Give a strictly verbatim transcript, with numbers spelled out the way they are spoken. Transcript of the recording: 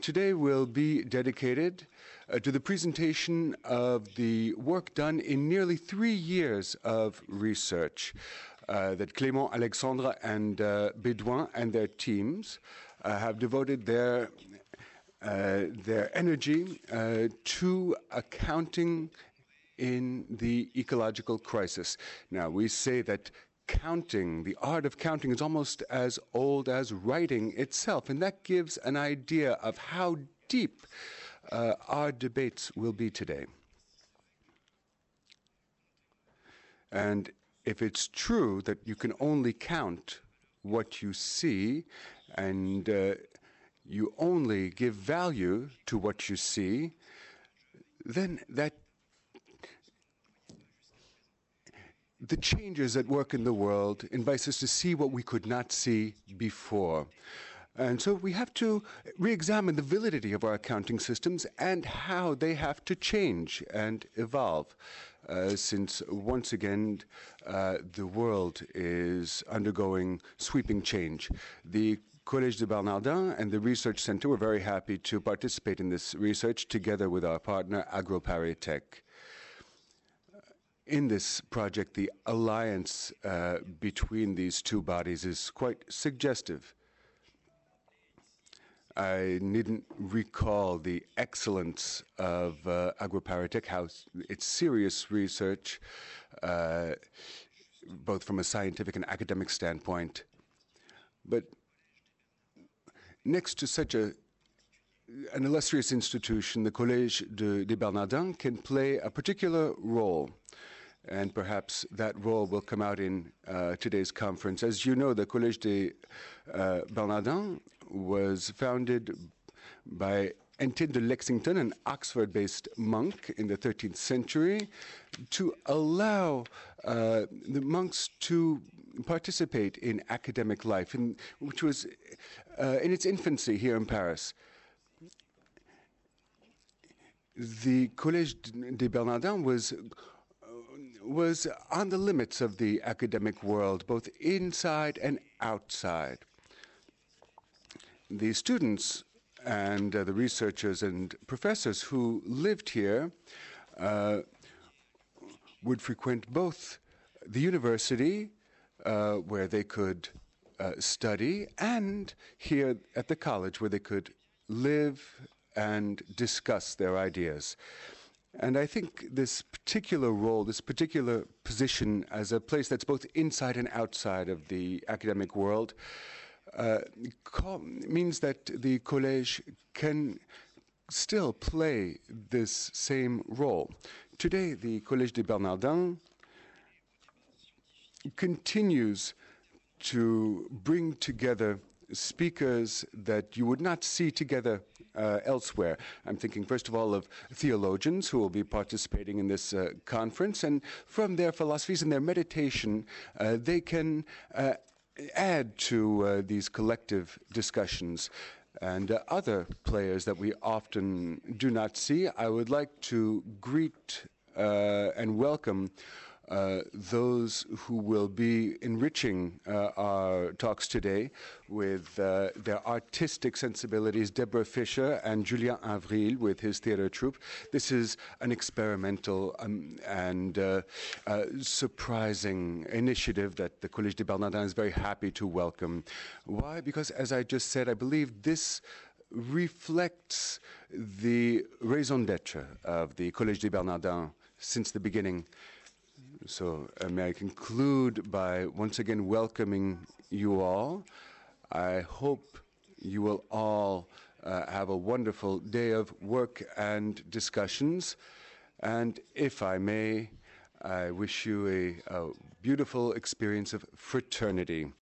today will be dedicated uh, to the presentation of the work done in nearly three years of research uh, that Clément, Alexandre, and uh, Bédouin and their teams uh, have devoted their, uh, their energy uh, to accounting in the ecological crisis. Now, we say that counting, the art of counting, is almost as old as writing itself, and that gives an idea of how deep uh, our debates will be today. And if it's true that you can only count what you see, and uh, you only give value to what you see, then that the changes at work in the world invite us to see what we could not see before. And so we have to re-examine the validity of our accounting systems and how they have to change and evolve, uh, since once again uh, the world is undergoing sweeping change. The Collège de Bernardin and the Research Center were very happy to participate in this research together with our partner AgroParisTech. In this project, the alliance uh, between these two bodies is quite suggestive. I needn't recall the excellence of uh, AgroParisTech, how its serious research, uh, both from a scientific and academic standpoint. But next to such a an illustrious institution, the Collège de, de Bernardin can play a particular role. And perhaps that role will come out in uh, today's conference. As you know, the Collège de uh, Bernardin was founded by Etienne de Lexington, an Oxford-based monk in the thirteenth century, to allow uh, the monks to participate in academic life, in, which was uh, in its infancy here in Paris. The Collège de Bernardin was was on the limits of the academic world, both inside and outside. The students and uh, the researchers and professors who lived here uh, would frequent both the university, uh, where they could uh, study, and here at the college, where they could live and discuss their ideas. And I think this particular role, this particular position as a place that's both inside and outside of the academic world, uh, means that the Collège can still play this same role. Today, the Collège de Bernardin continues to bring together speakers that you would not see together uh, elsewhere. I'm thinking, first of all, of theologians who will be participating in this uh, conference, and from their philosophies and their meditation, uh, they can uh, add to uh, these collective discussions. And uh, other players that we often do not see, I would like to greet uh, and welcome Uh, those who will be enriching uh, our talks today with uh, their artistic sensibilities, Deborah Fisher and Julien Avril with his theater troupe. This is an experimental um, and uh, uh, surprising initiative that the Collège de Bernardin is very happy to welcome. Why? Because, as I just said, I believe this reflects the raison d'être of the Collège de Bernardin since the beginning. So uh, may I conclude by once again welcoming you all. I hope you will all uh, have a wonderful day of work and discussions. And if I may, I wish you a, a beautiful experience of fraternity.